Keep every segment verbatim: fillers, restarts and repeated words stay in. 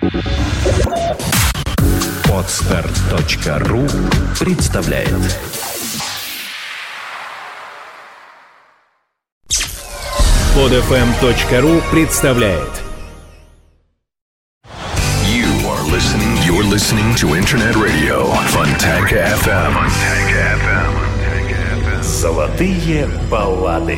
Подстар точка ру представляет. Подэфэм точка ру представляет. You are listening, you're listening to Internet Radio Fontanka эф эм. Золотые баллады.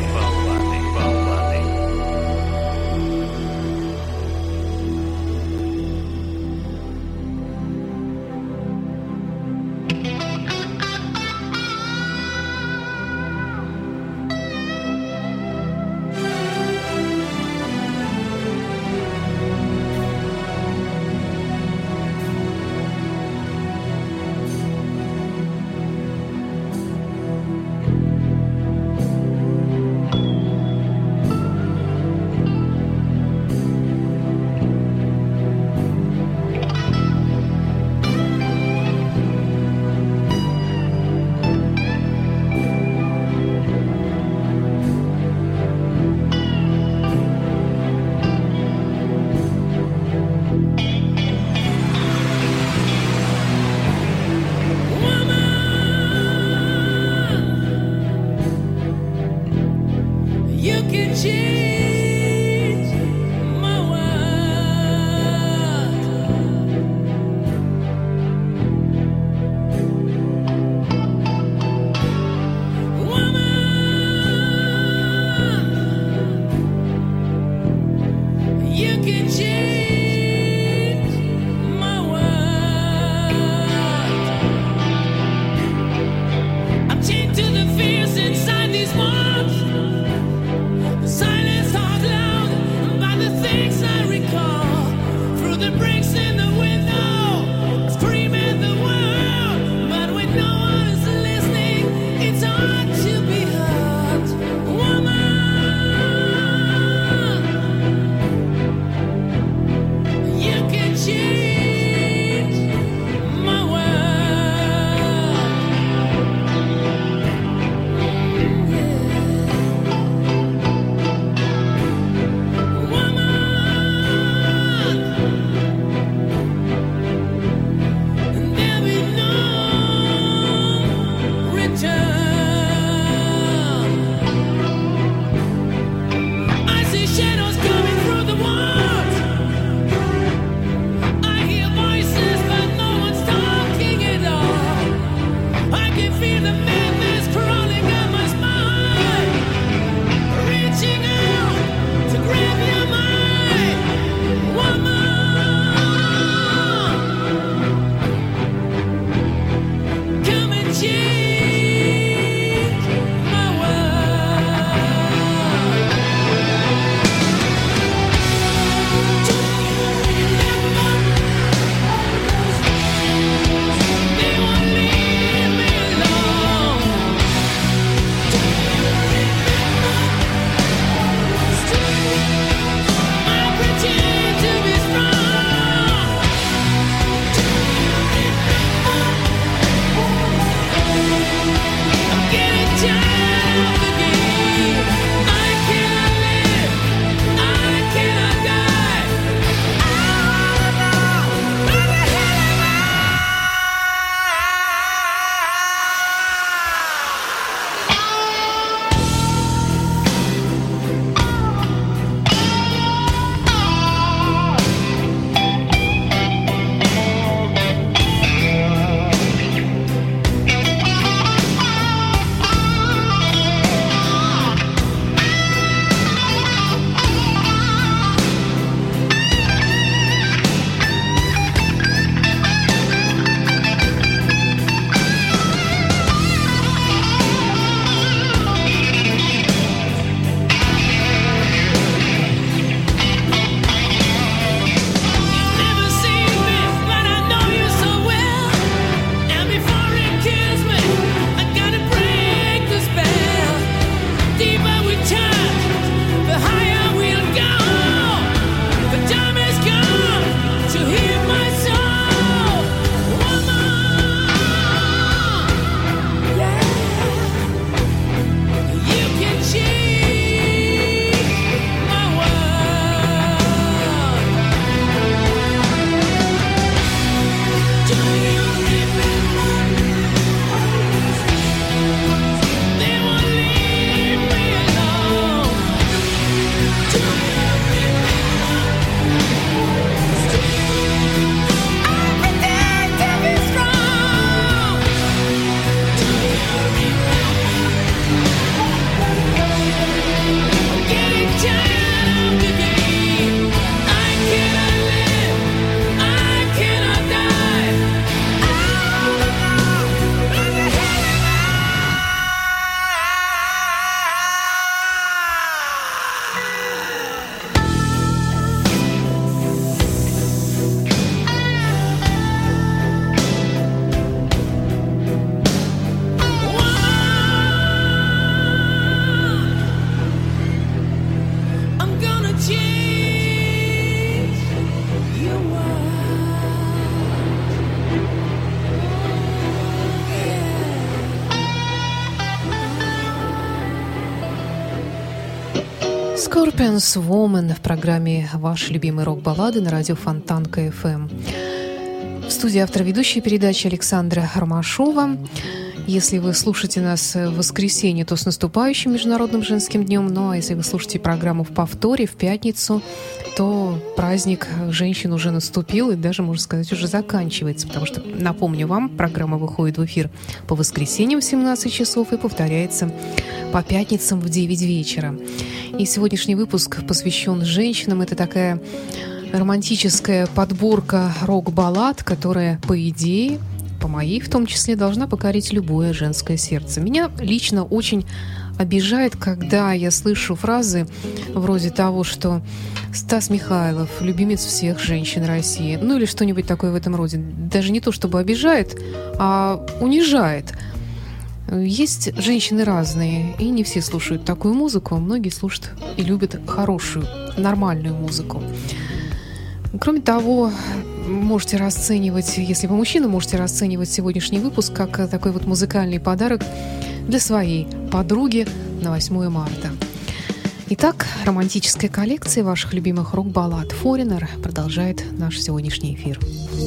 Scorpions Woman в программе «Ваши любимые рок-баллады» на радио Фонтанка эф эм. В студии автор ведущей передачи Александра Ромашова. Если вы слушаете нас в воскресенье, то с наступающим Международным женским днем. Ну а если вы слушаете программу в повторе в пятницу, то праздник женщин уже наступил и даже, можно сказать, уже заканчивается. Потому что, напомню вам, программа выходит в эфир по воскресеньям в семнадцать часов и повторяется по пятницам в девять вечера. И сегодняшний выпуск посвящен женщинам. Это такая романтическая подборка рок-баллад, которая, по идее, по моей в том числе, должна покорить любое женское сердце. Меня лично очень обижает, когда я слышу фразы вроде того, что Стас Михайлов — любимец всех женщин России. Ну или что-нибудь такое в этом роде. Даже не то чтобы обижает, а унижает. Есть женщины разные, и не все слушают такую музыку. Многие слушают и любят хорошую, нормальную музыку. Кроме того, можете расценивать, если вы мужчина, можете расценивать сегодняшний выпуск как такой вот музыкальный подарок для своей подруги на восьмое марта. Итак, романтическая коллекция ваших любимых рок-баллад Foreigner продолжает наш сегодняшний эфир.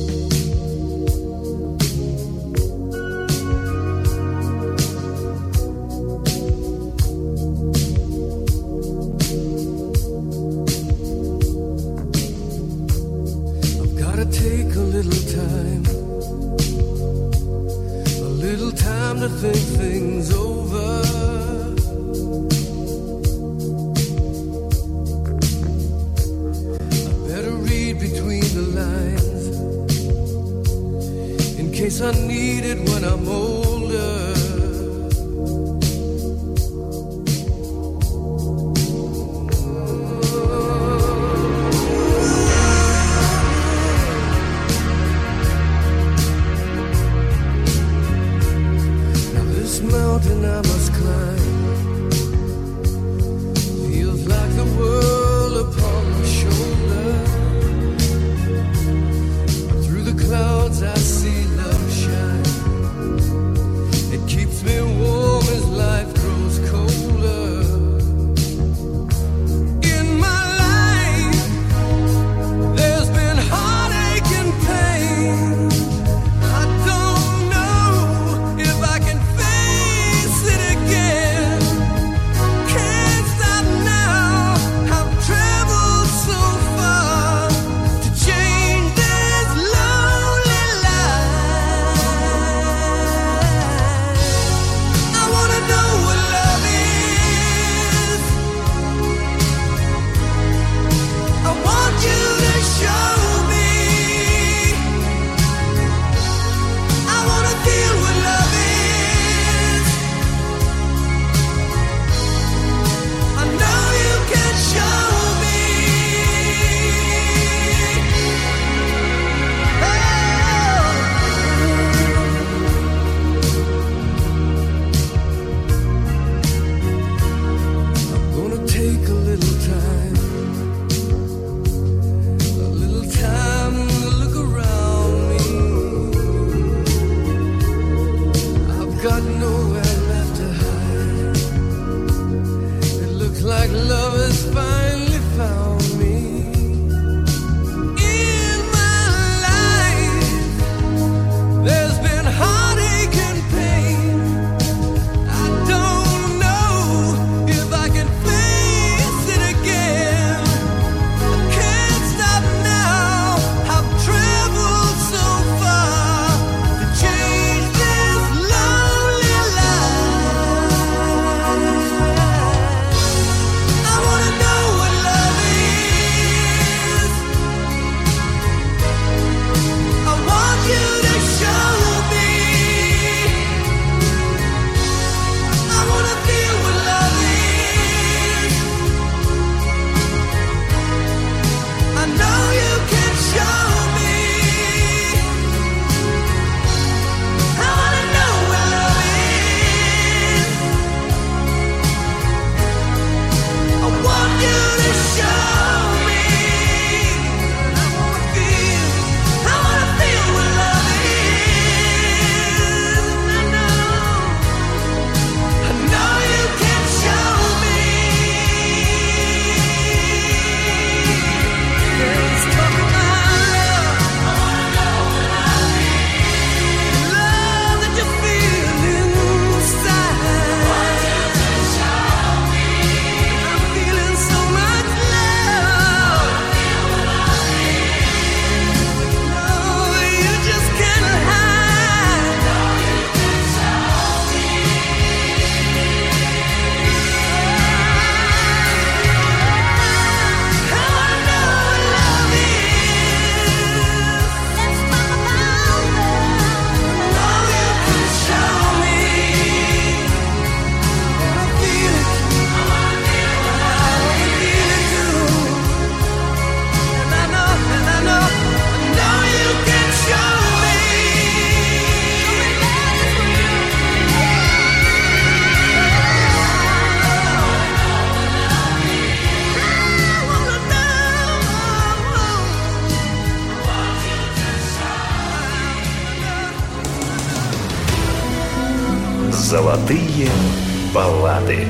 Take a little time, a little time to think things over. I better read between the lines in case I need it when I'm older. Mountain I must climb feels like the world upon my shoulder. Through the clouds I see love shine. It keeps me warm as life grows colder. In my life there's been heartache and pain. I don't know if I can so far to change this lonely life. Золотые баллады.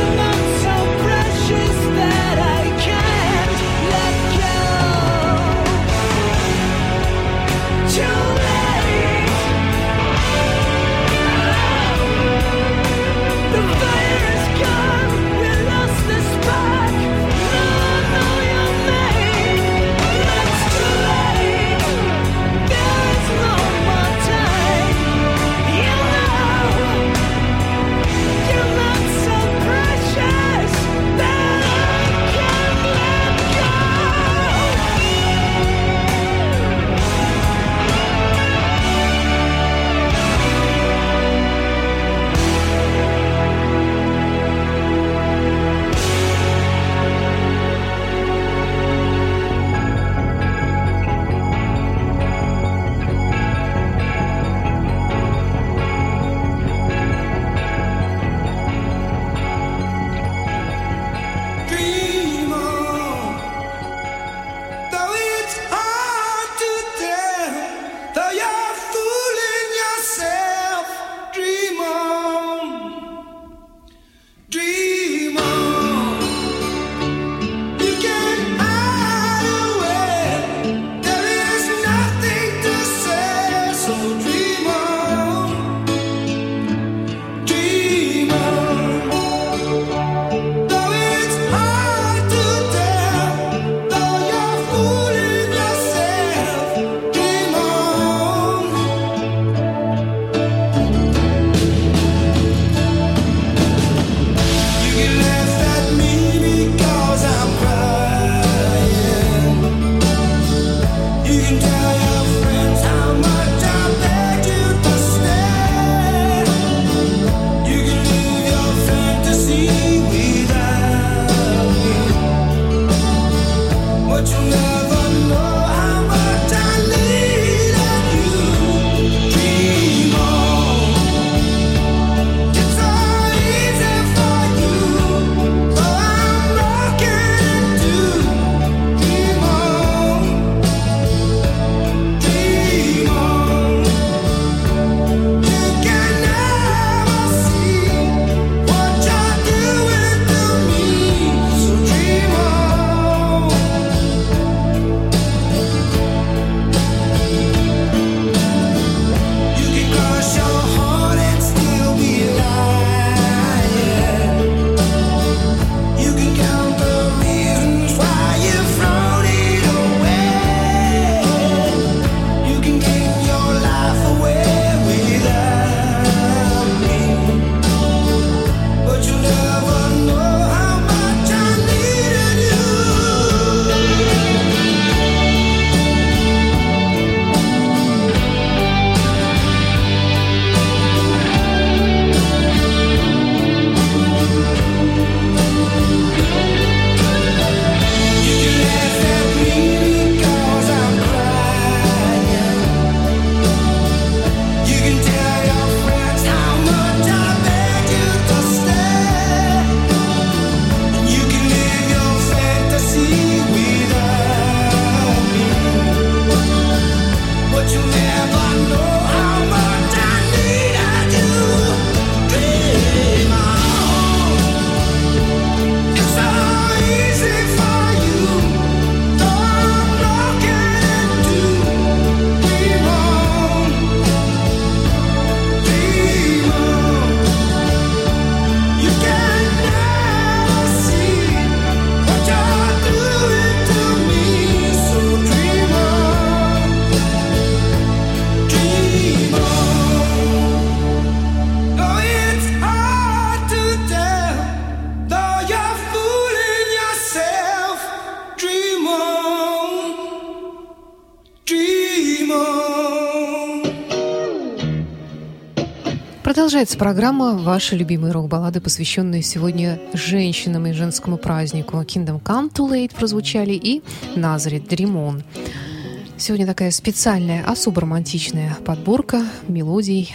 Let go. Продолжается программа «Ваши любимые рок-баллады», посвященные сегодня женщинам и женскому празднику. «Kingdom Come Too Late» прозвучали и «Nazareth Dream On». Сегодня такая специальная, особо романтичная подборка мелодий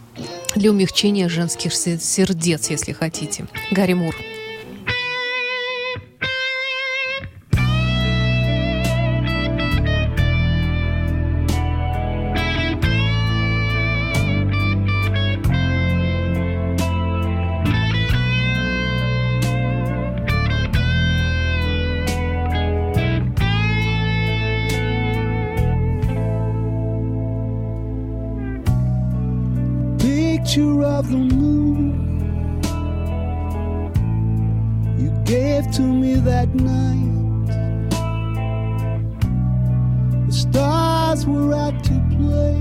для умягчения женских сердец, если хотите. Гарри Мур. Picture of the moon you gave to me that night. The stars were out to play.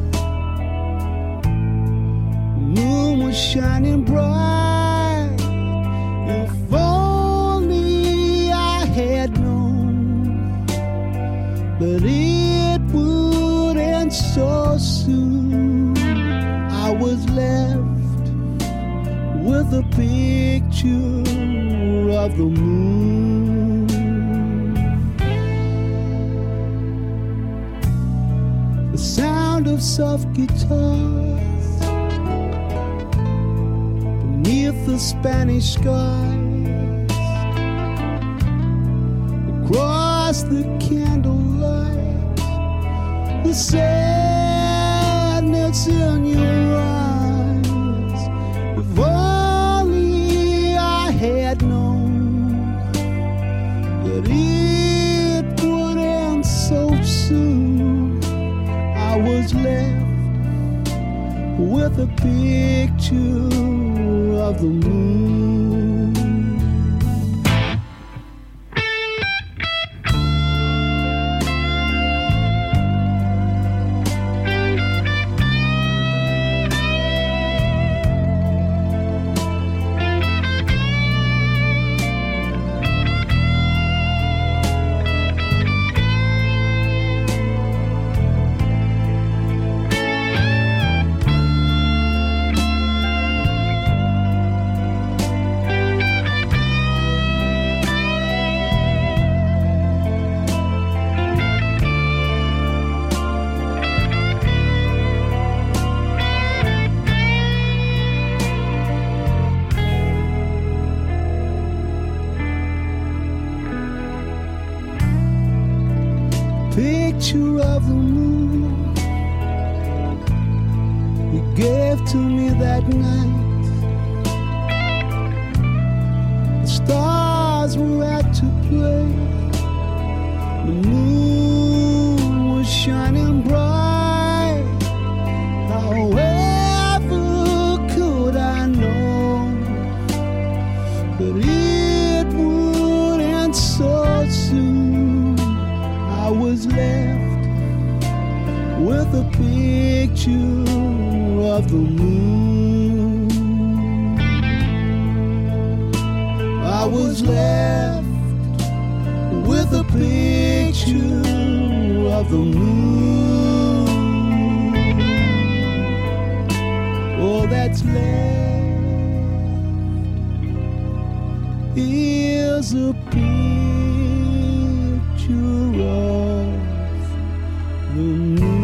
The moon was shining bright. If only I had known that it would end so soon. I was left with a picture of the moon. The sound of soft guitars beneath the Spanish skies, across the candlelight, the sadness in your eyes. If only I had known that it would end so soon. I was left with a picture of the moon. picture of the moon you gave to me that night. The stars were out to play. The moon was shining bright. However could I know that it would end so soon? I was left with a picture of the moon. I was left with a picture of the moon. All that's left is a picture of the moon.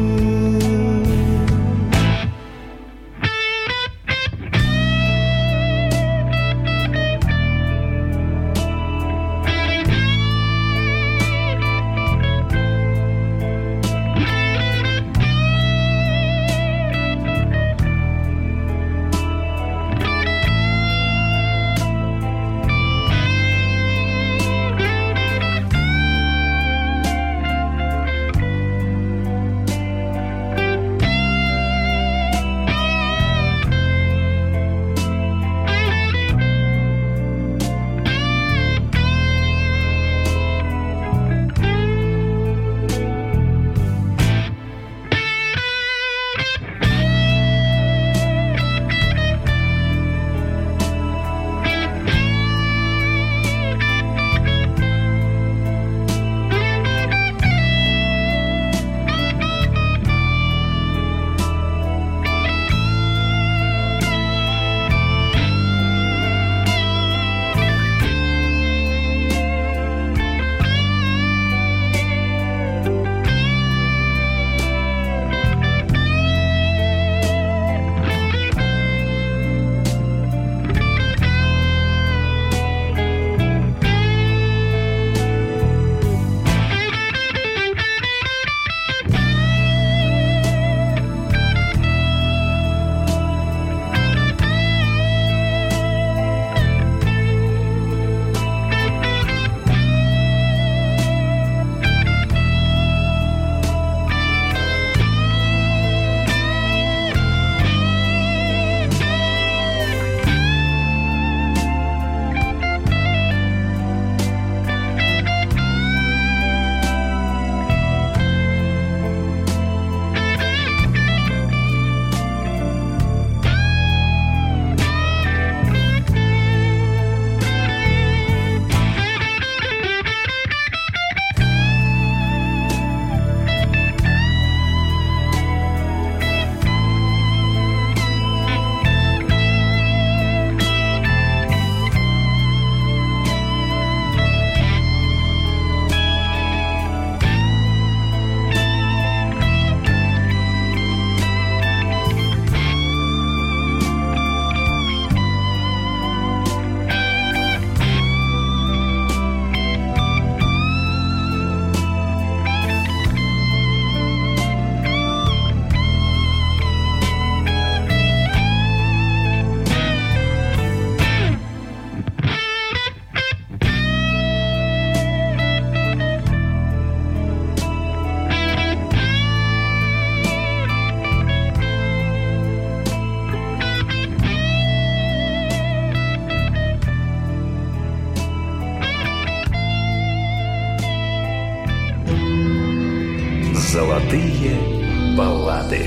Золотые баллады.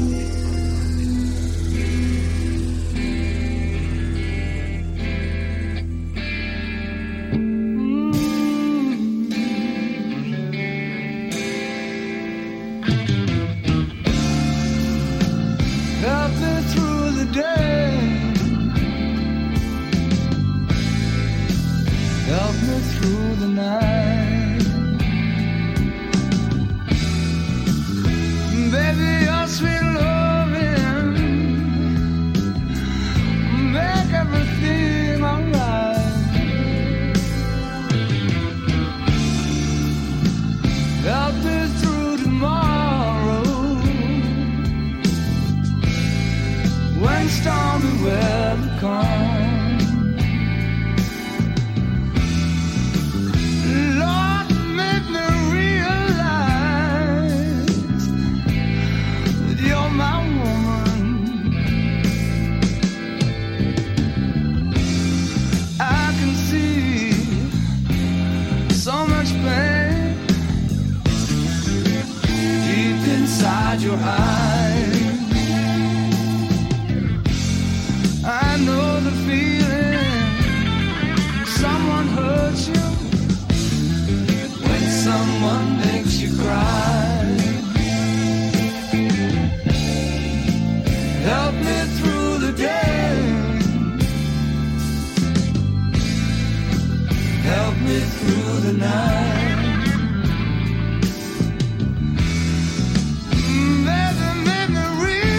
Help me through the day. Help me through the night. Baby, your sweet love much pain deep inside your eyes. I know the feeling. Someone hurts you when someone makes you cry. Help me through the day. Help me through the night. Baby, make me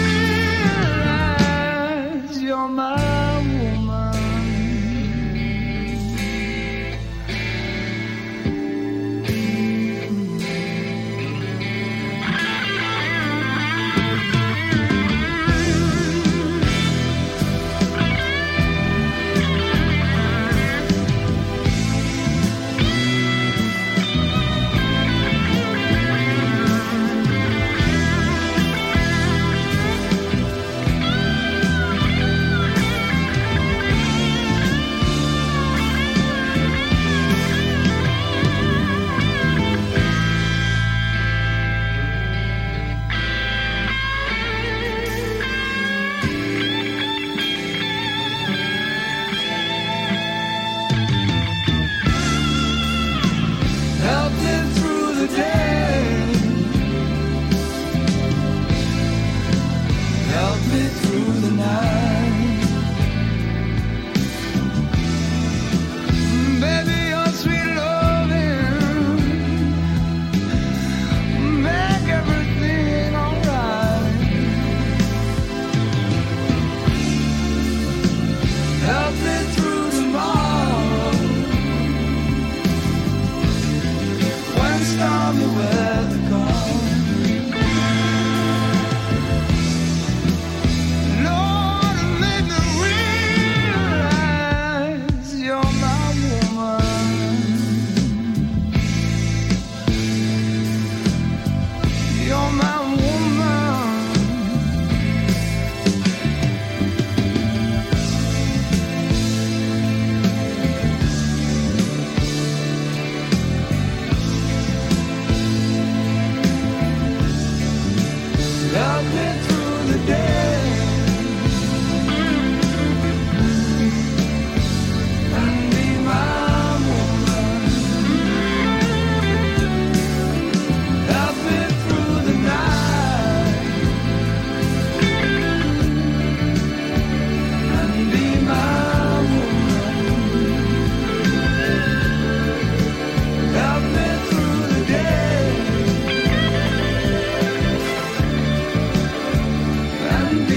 realize you're my woman. And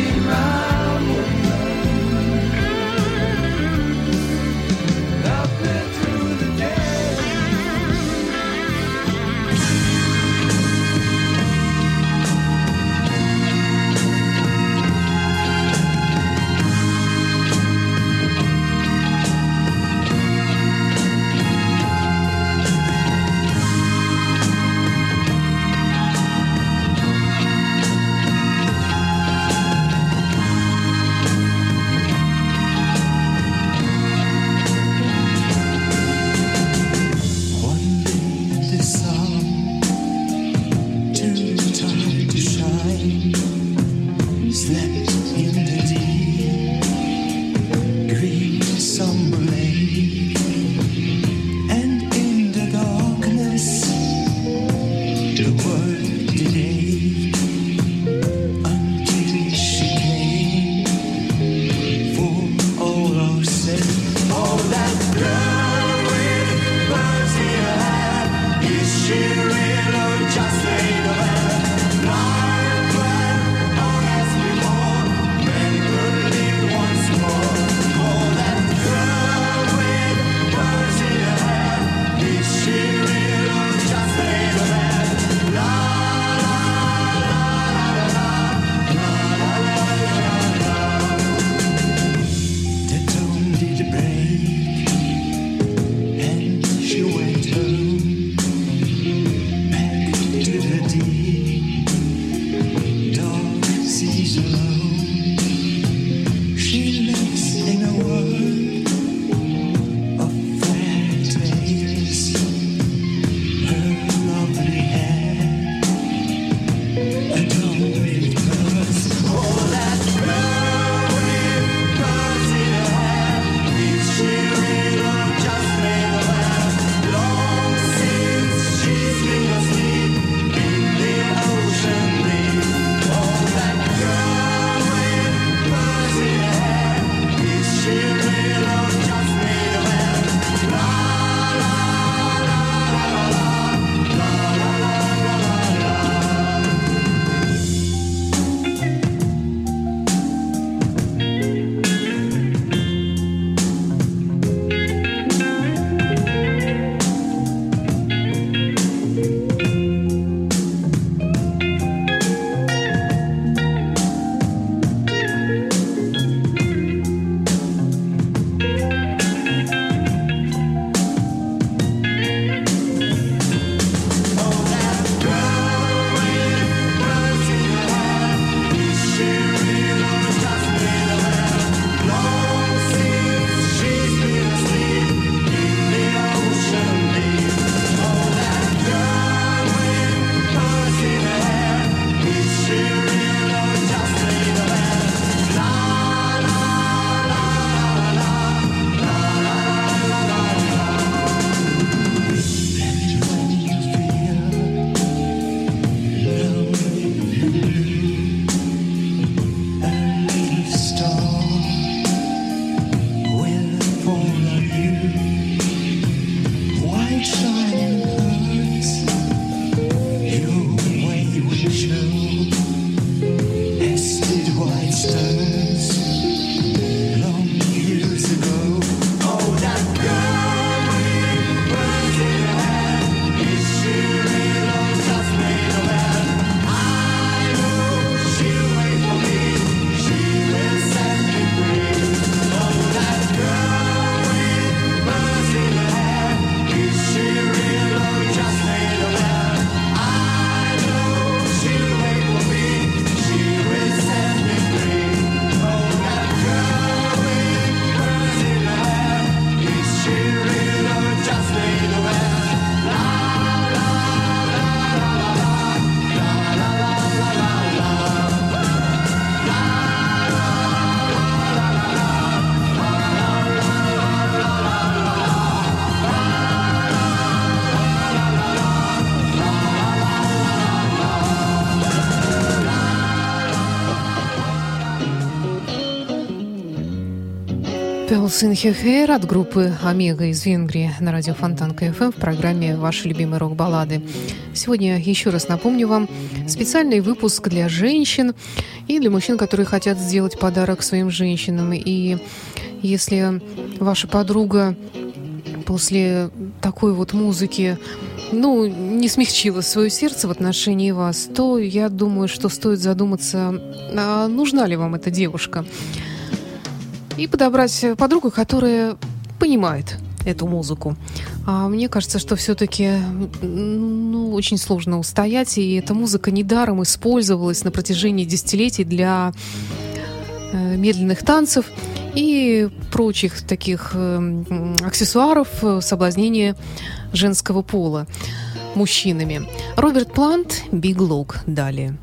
Пелсин Хехер от группы «Омега» из Венгрии на радио Фонтанка эф эм в программе «Ваши любимые рок-баллады». Сегодня, еще раз напомню вам, специальный выпуск для женщин и для мужчин, которые хотят сделать подарок своим женщинам. И если ваша подруга после такой вот музыки, ну, не смягчила свое сердце в отношении вас, то я думаю, что стоит задуматься, а нужна ли вам эта девушка. И подобрать подругу, которая понимает эту музыку. А мне кажется, что все-таки ну, очень сложно устоять, и эта музыка недаром использовалась на протяжении десятилетий для э, медленных танцев и прочих таких э, аксессуаров соблазнения женского пола мужчинами. Роберт Плант, «Big Look» далее.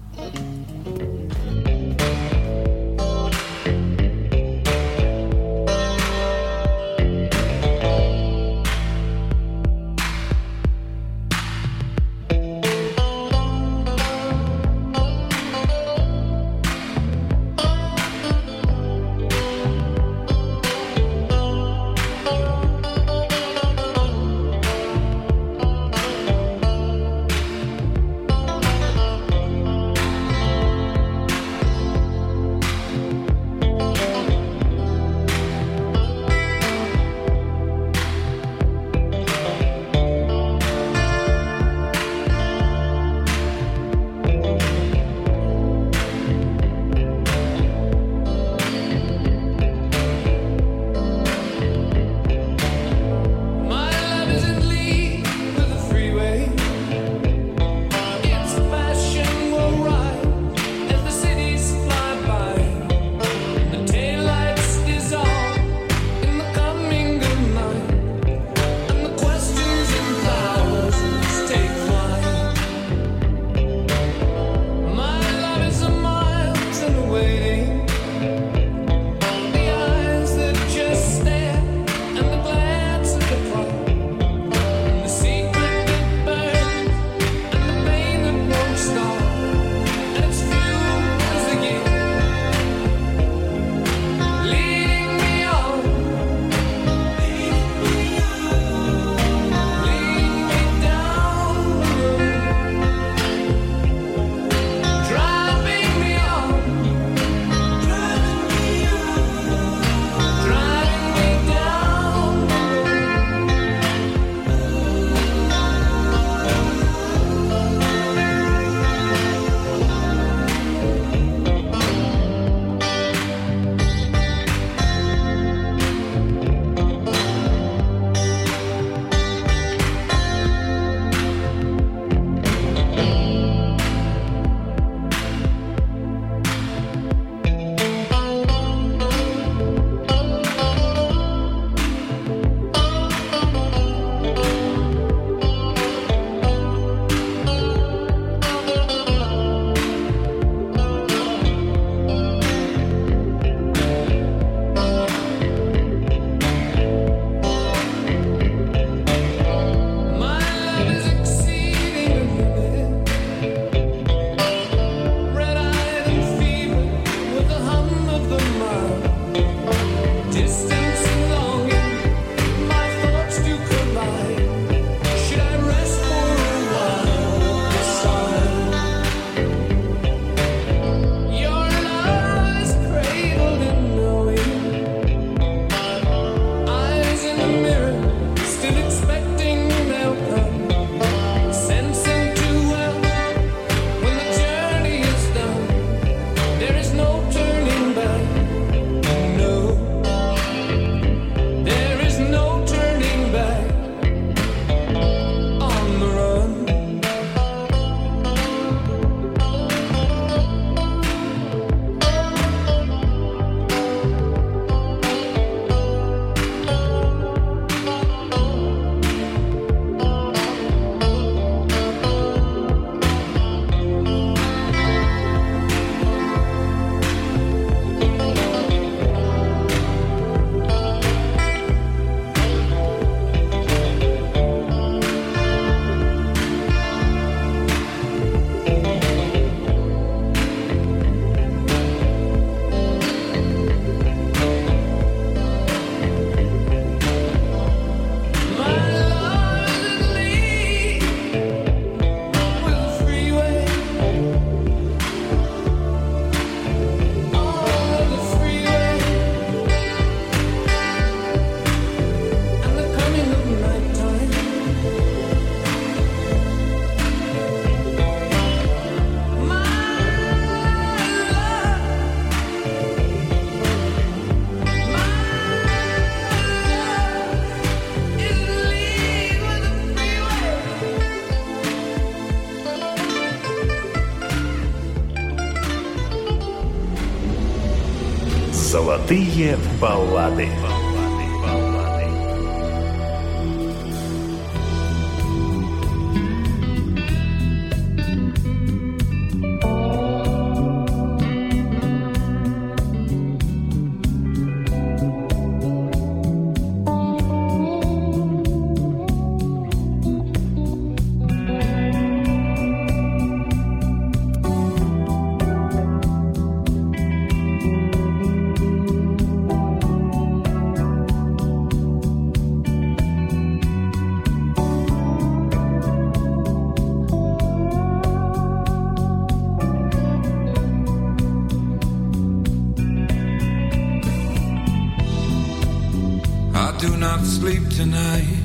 Thank Золотые баллады. Do not sleep tonight.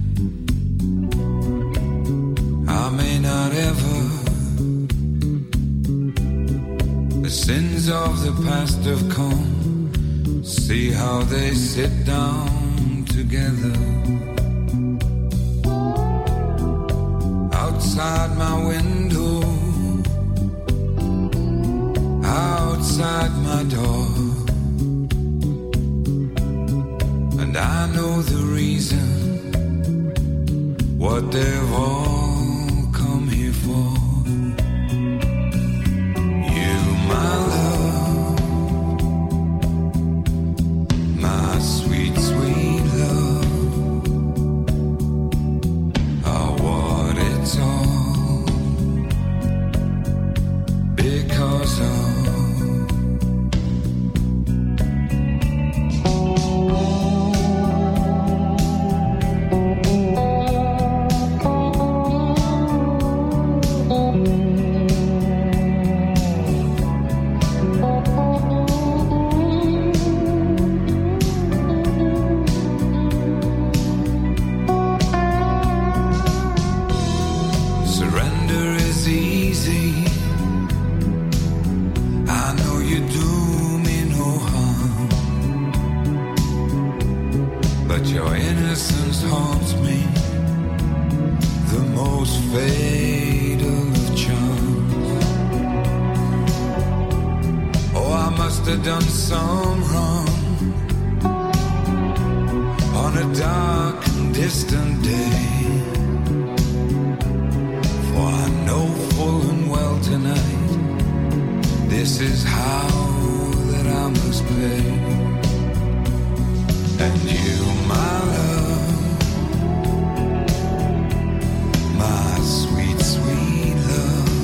I may not ever. The sins of the past have come. See how they sit down together. Outside my window, outside my door. I know the reason, what they've all come here for. You, my love, my sweet, sweet love, are what it's all because of. Done some wrong on a dark and distant day. For I know full and well tonight, this is how that I must pay. And you, my love, my sweet, sweet love,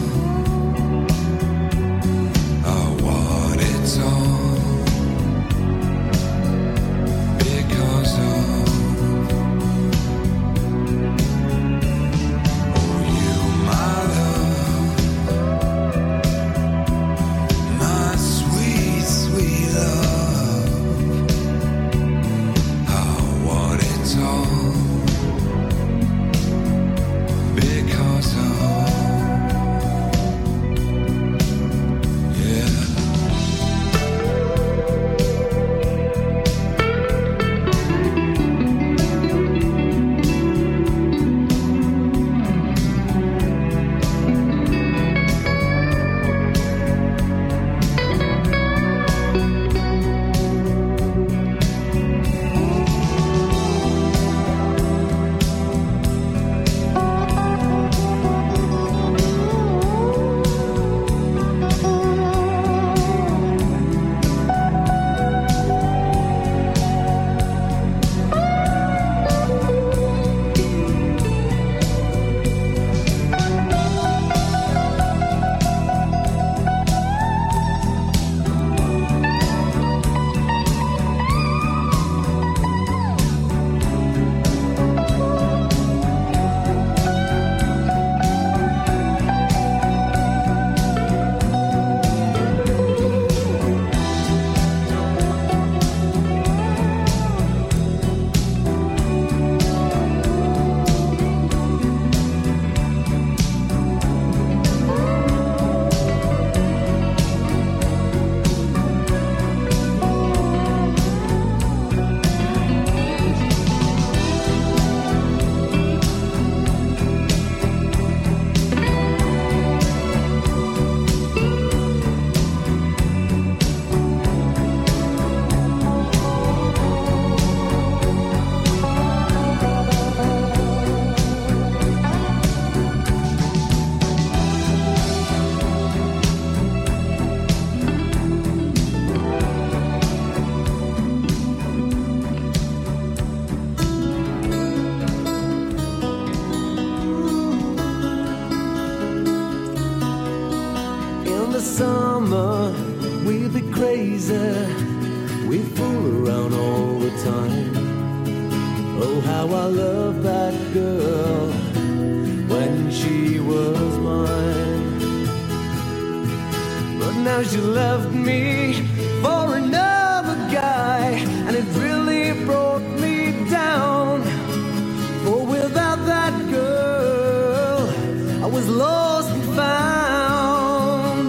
are what it's all. summer, we'd be crazy, we'd fool around all the time. Oh, how I love that girl when she was mine. But now she left me for another guy, and it really brought me down. For without that girl, I was lost and found.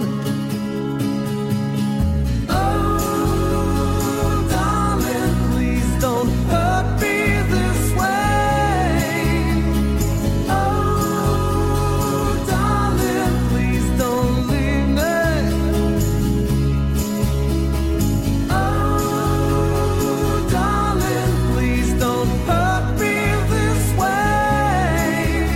Oh, darling, please don't hurt me this way. Oh, darling, please don't leave me. Oh, darling, please don't hurt me this way.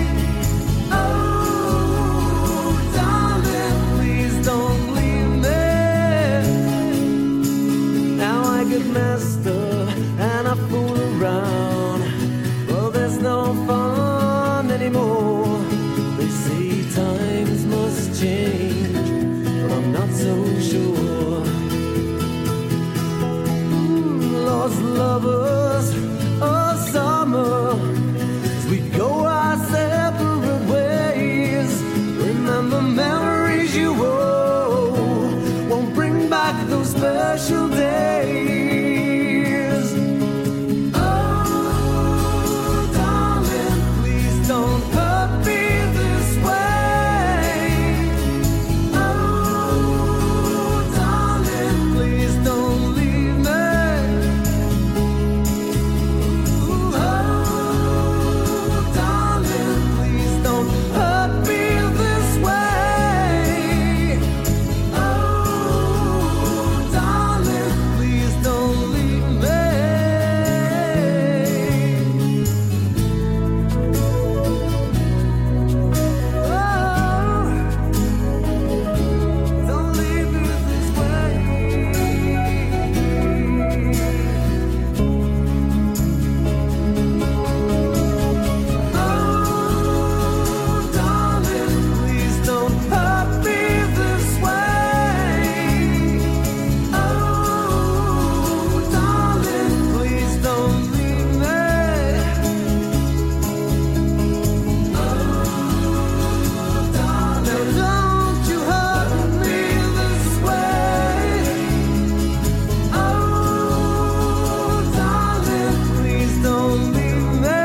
Oh, darling, please don't leave me. Now I get messed up and I fool around. Well, there's no fun anymore. They say times must change, but I'm not so sure. Mm, lost lovers of summer, as we go our separate ways. Remember memories you owe, won't bring back those special days. Oh, darling, please don't hurt me this way. Oh, darling, please don't leave me. Oh, darling, please don't hurt me this way. Oh, darling, please don't leave me. Oh, don't leave me this way. Oh, darling, please don't hurt me this way. Oh, darling, please don't leave me. Oh, darling, don't you hurt me this way. Oh, darling, please don't leave me.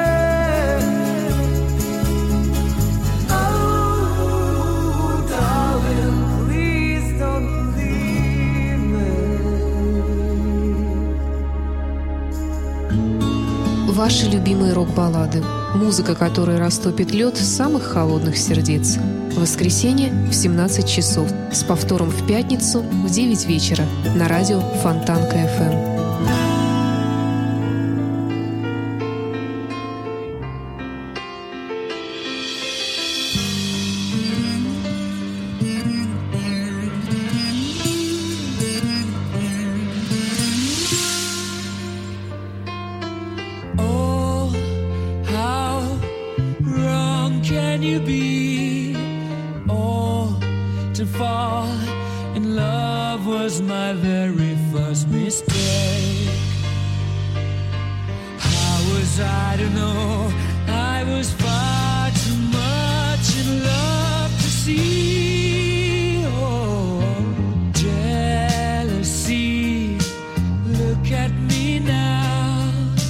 Oh, darling, please don't leave me. Ваши любимые рок-баллады. Музыка, которая растопит лед самых холодных сердец. В воскресенье в семнадцать часов. С повтором в пятницу в девять вечера. На радио Фонтанка эф эм. Oh, how wrong can you be? Oh, to fall in love was my very first mistake. How was I to know I was far too much in love to see? Oh, jealousy, look at me now.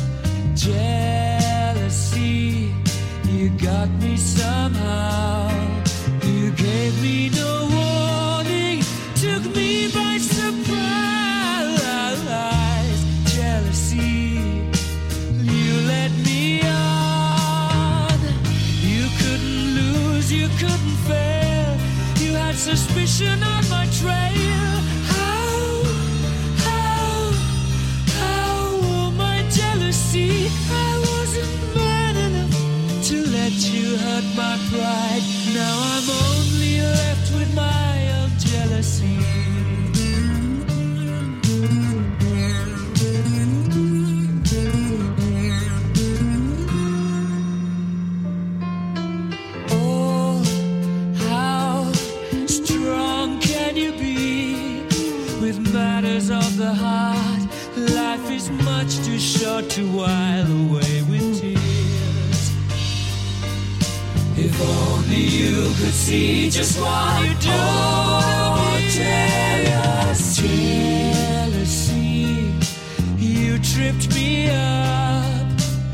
Jealousy, you got me somehow. You gave me no warning, took me by surprise. Jealousy, you led me on. You couldn't lose, you couldn't fail. You had suspicion on my trail. How, how, how, oh my jealousy, I wasn't man enough to let you hurt my pride. Now I'm only left with my own jealousy. Oh, how strong can you be? start to while away with tears. If only you could see just what you do. Oh, jealousy, jealousy, you tripped me up.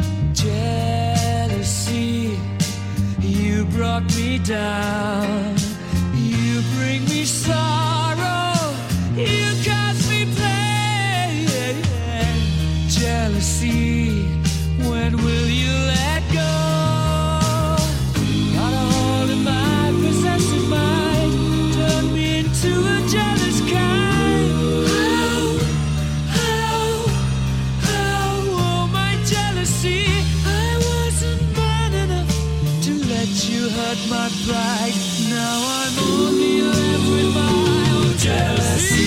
Jealousy, you brought me down. You bring me sorrow, you cause me pain. Jealousy, when will you let go? Got a hold of my possessive mind, turned me into a jealous kind. How, how, how, oh my jealousy, I wasn't man enough to let you hurt my pride. Now I'm only left with my own jealousy.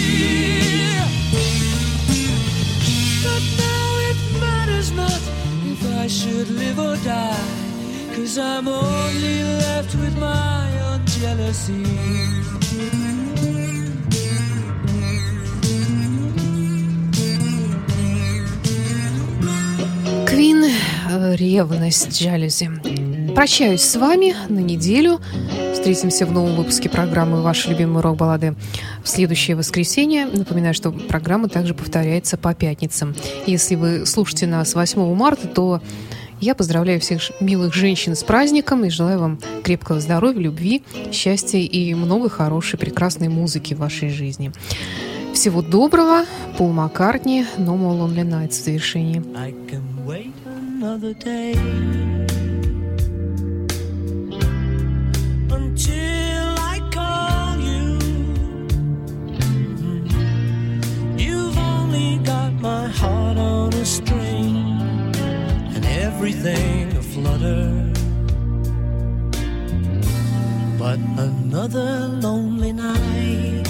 But now it matters not if I should live or die, 'cause I'm only left with my own jealousy. Queen, ревность, жалюзи. Прощаюсь с вами на неделю. Встретимся в новом выпуске программы «Ваши любимые рок-баллады» в следующее воскресенье. Напоминаю, что программа также повторяется по пятницам. Если вы слушаете нас восьмого марта, то я поздравляю всех милых женщин с праздником и желаю вам крепкого здоровья, любви, счастья и много хорошей, прекрасной музыки в вашей жизни. Всего доброго. Пол Маккартни, No More Lonely Nights в завершении. I can wait another day until I call you. You've only got my heart on a string and everything aflutter. But another lonely night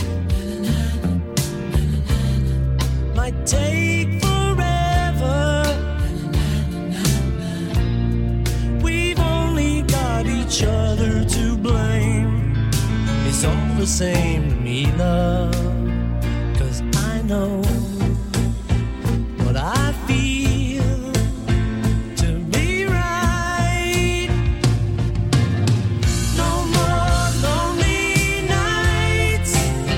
might take forever. We've only got each other to blame. It's all the same to me, love, 'cause I know what I feel to be right. No more lonely nights.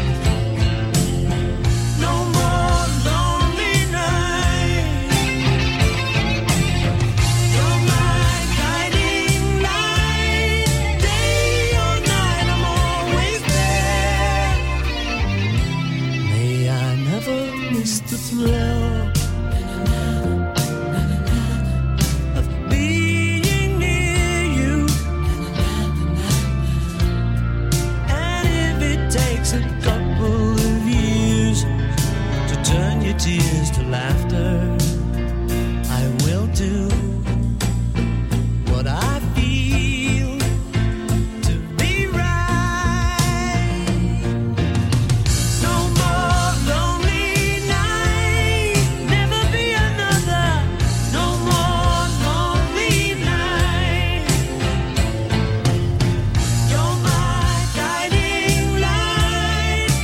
No more lonely nights. You're my guiding light. Day or night, I'm always there. May I never miss the thrill of being near you. And if it takes a couple of years to turn your tears to laughter, I will do what I feel to be right. No more lonely night, never be another. No more lonely night. You're my guiding light.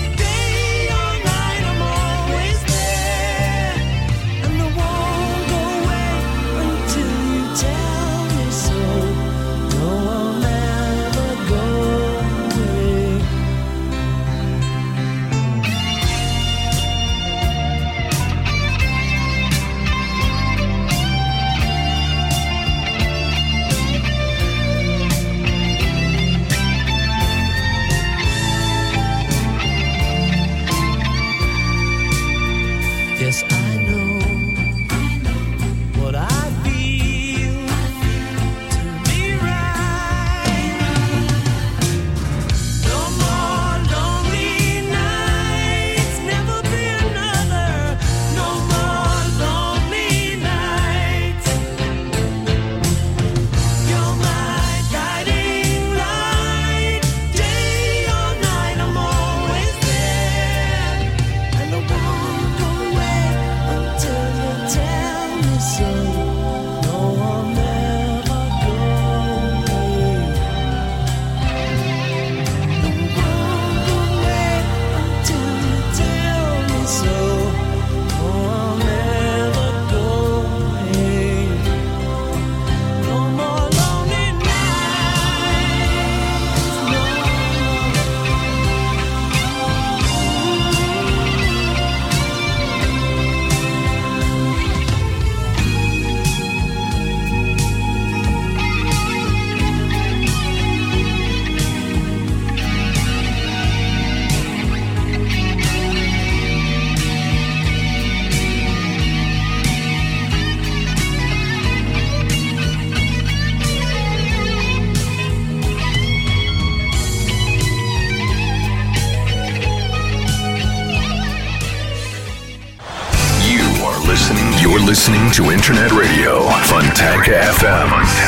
listening to Internet Radio Fontanka эф эм.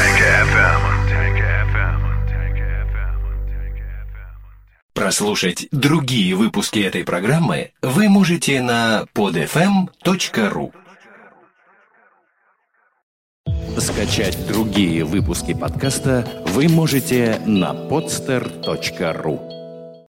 Прослушать другие выпуски этой программы вы можете на под эф эм точка ру. Скачать другие выпуски подкаста вы можете на подстер точка ру.